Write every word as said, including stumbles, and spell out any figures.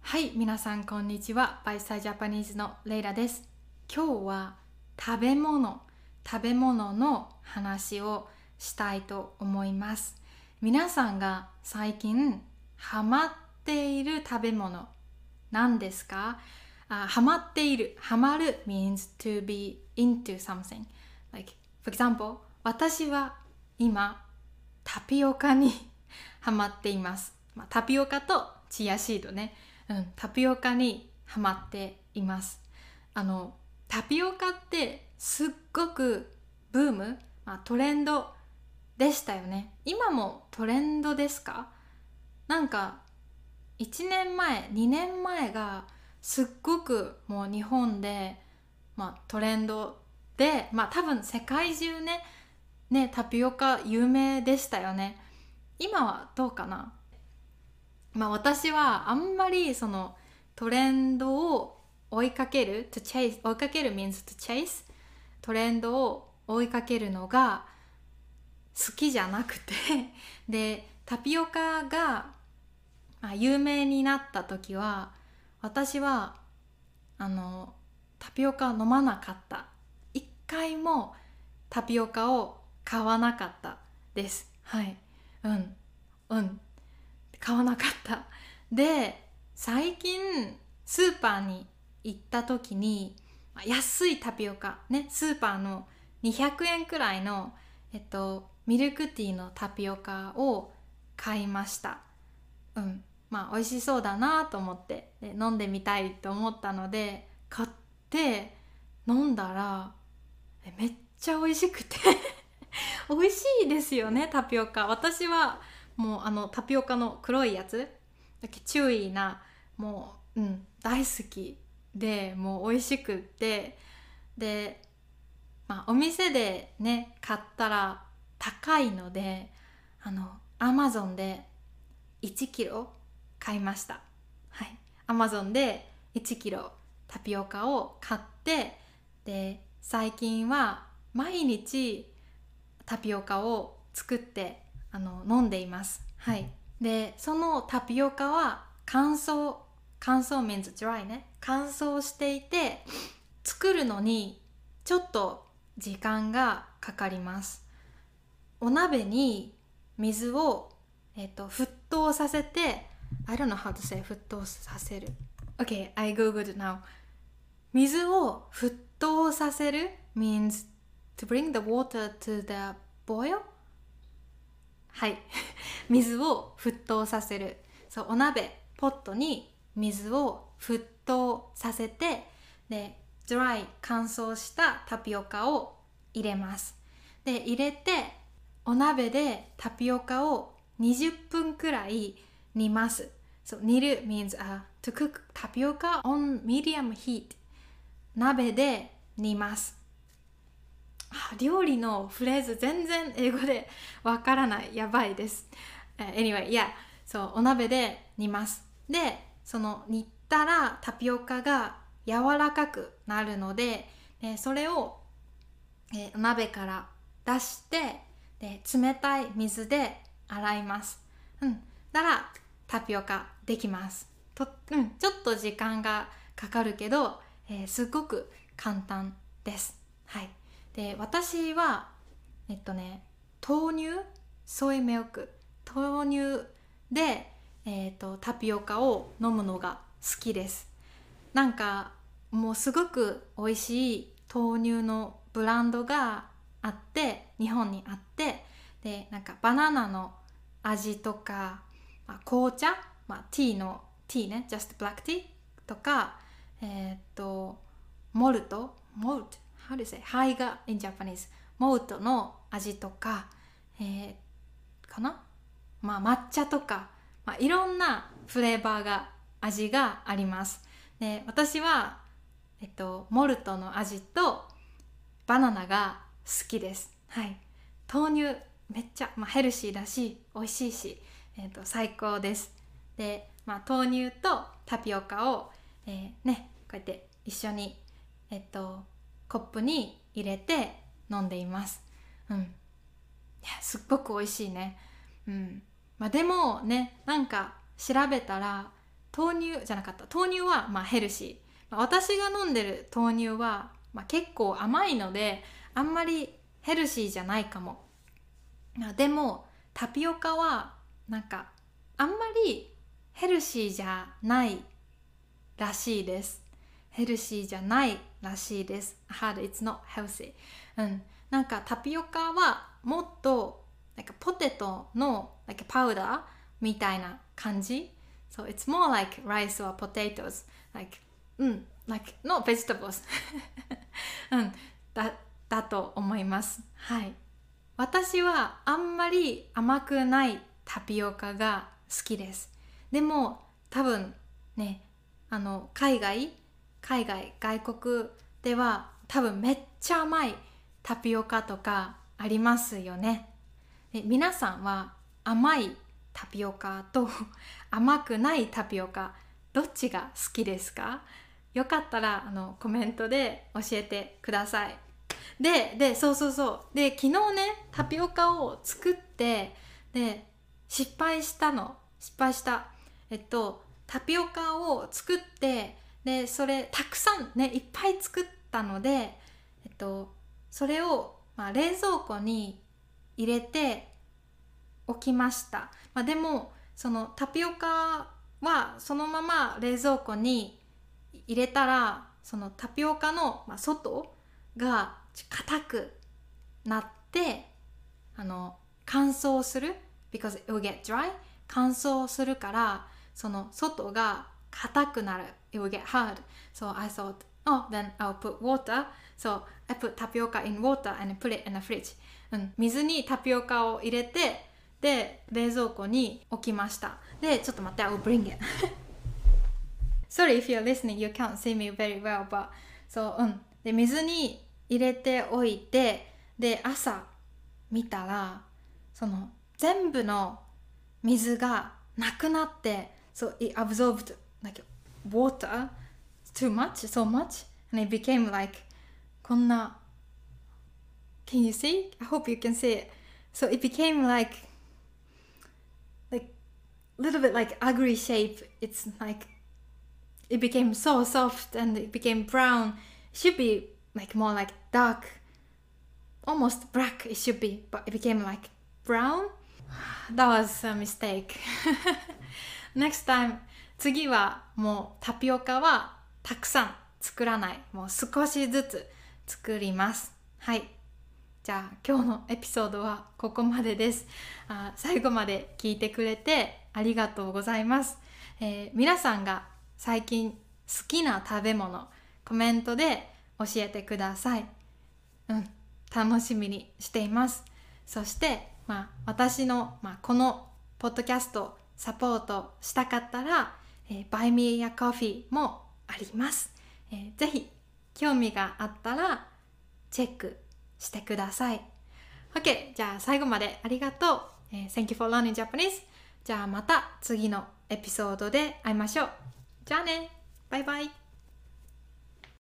はい、皆さんこんにちは。バイサイジャパニーズのレイラです。今日は食べ物、食べ物の話をしたいと思います。皆さんが最近ハマっている食べ物何ですか？あ、ハマっている。ハマる means to be into something. Like, for example, 私は今タピオカにハマっています。まあ、タピオカとチアシードね。うん、タピオカにハマっています。あのタピオカってすっごくブーム、まあ、トレンドでしたよね。今もトレンドですか？なんかいちねんまえにねんまえがすっごくもう日本で、まあ、トレンドで、まあ多分世界中ねねタピオカ有名でしたよね。今はどうかな。まあ私はあんまりそのトレンドを追いかける to chase 追いかける means to chase トレンドを追いかけるのが好きじゃなくてでタピオカが、まあ、有名になった時は私はあのタピオカ飲まなかった。一回もタピオカを買わなかったです。はいうんうん買わなかった。で最近スーパーに行った時に安いタピオカね、スーパーのにひゃくえんくらいの、えっと、ミルクティーのタピオカを買いました。うんまあ美味しそうだなと思ってで飲んでみたいと思ったので買って飲んだらめっちゃ美味しくて美味しいですよねタピオカ。私はもうあのタピオカの黒いやつだけ注意なもう、うん、大好きでもう美味しくってで、まあ、お店でね買ったら高いのであのアマゾンでいちキロ買いました。はい、アマゾンでいちキロタピオカを買ってで最近は毎日タピオカを作ってあの飲んでいます。はい。で、そのタピオカは乾燥、乾燥 means dry ね。乾燥していて作るのにちょっと時間がかかります。お鍋に水を、えっと、沸騰させて I don't know how to say 沸騰させる。Okay, I googled now. 水を沸騰させる means to bring the water to the boil? はい水を沸騰させる。そうお鍋ポットに水を沸騰させてで dry 乾燥したタピオカを入れます。で入れてお鍋でタピオカをにじゅっぷんくらい煮ます。そう煮る means、uh, to cook tapioca on medium heat 鍋で煮ます。料理のフレーズ全然英語でわからない。やばいです。uh, Anyway, yeah. そうお鍋で煮ます。で、その煮たらタピオカが柔らかくなるので、でそれを、えー、鍋から出してで冷たい水で洗います。うん。だからタピオカできます。と、うん、ちょっと時間がかかるけど、えー、すごく簡単です。はい。で私はえっとね豆乳ソイミルク豆乳で、えー、とタピオカを飲むのが好きです。なんかもうすごく美味しい豆乳のブランドがあって日本にあってでなんかバナナの味とか、まあ、紅茶、まあ、ティーのティーね just black tea とかえっ、とモルトモルトHow do you say? ハイが in Japanese モルトの味とか、えー、かな、まあ、抹茶とか、まあ、いろんなフレーバーが味があります。で私は、えっと、モルトの味とバナナが好きです。はい、豆乳めっちゃ、まあ、ヘルシーだし美味しいし、えっと、最高です。で、まあ、豆乳とタピオカを、えー、ねこうやって一緒にえっとコップに入れて飲んでいます。うん。いやすっごく美味しいね。うん。まあでもねなんか調べたら豆乳じゃなかった豆乳はまあヘルシー、まあ、私が飲んでる豆乳は、まあ、結構甘いのであんまりヘルシーじゃないかも。でもタピオカはなんかあんまりヘルシーじゃないらしいです。ヘルシーじゃないらしいです。Hard, it's not healthy。うん、なんかタピオカはもっとなんかポテトのlikeパウダーみたいな感じ。So it's more like rice or potatoes. Like, うん、like not vegetables うん、だ、だと思います。はい。私はあんまり甘くないタピオカが好きです。でも多分ね、あの海外、海外、外国では多分めっちゃ甘いタピオカとかありますよね。で皆さんは甘いタピオカと甘くないタピオカどっちが好きですか？よかったらあのコメントで教えてください。で、で、そうそうそう。で、昨日ね、タピオカを作って、で、失敗したの。失敗した。えっと、タピオカを作って、で、それ、たくさんね、いっぱい作ったので、えっと、それを、まあ、冷蔵庫に入れておきました。まあ、でも、そのタピオカはそのまま冷蔵庫に入れたら、そのタピオカの、まあ、外が硬くなってあの乾燥する because it will get dry 乾燥するからその外が硬くなる it will get hard so I thought oh then I'll put water so I put tapioca in water and put it in the fridge、うん、水にタピオカを入れてで冷蔵庫に置きました。でちょっと待って I will bring it sorry if you're listening you can't see me very well but so うんで水に入れておいてで朝見たらその全部の水がなくなって so it absorbed like water too much so much and it became like こんな can you see? I hope you can see it so it became like like little bit like ugly shape it's like it became so soft and it became brown it should be like more like dark almost black it should be but it became like brown that was a mistake next time 次はもうタピオカはたくさん作らないもう少しずつ作ります。はいじゃあ今日のエピソードはここまでです。あ最後まで聞いてくれてありがとうございます、えー、皆さんが最近好きな食べ物コメントで教えてください。うん、楽しみにしています。そして、まあ、私の、まあ、このポッドキャストサポートしたかったら、えー、Buy Me a Coffee もあります、えー。ぜひ興味があったらチェックしてください。OK、じゃあ最後までありがとう。えー、Thank you for learning Japanese。じゃあまた次のエピソードで会いましょう。じゃあね、バイバイ。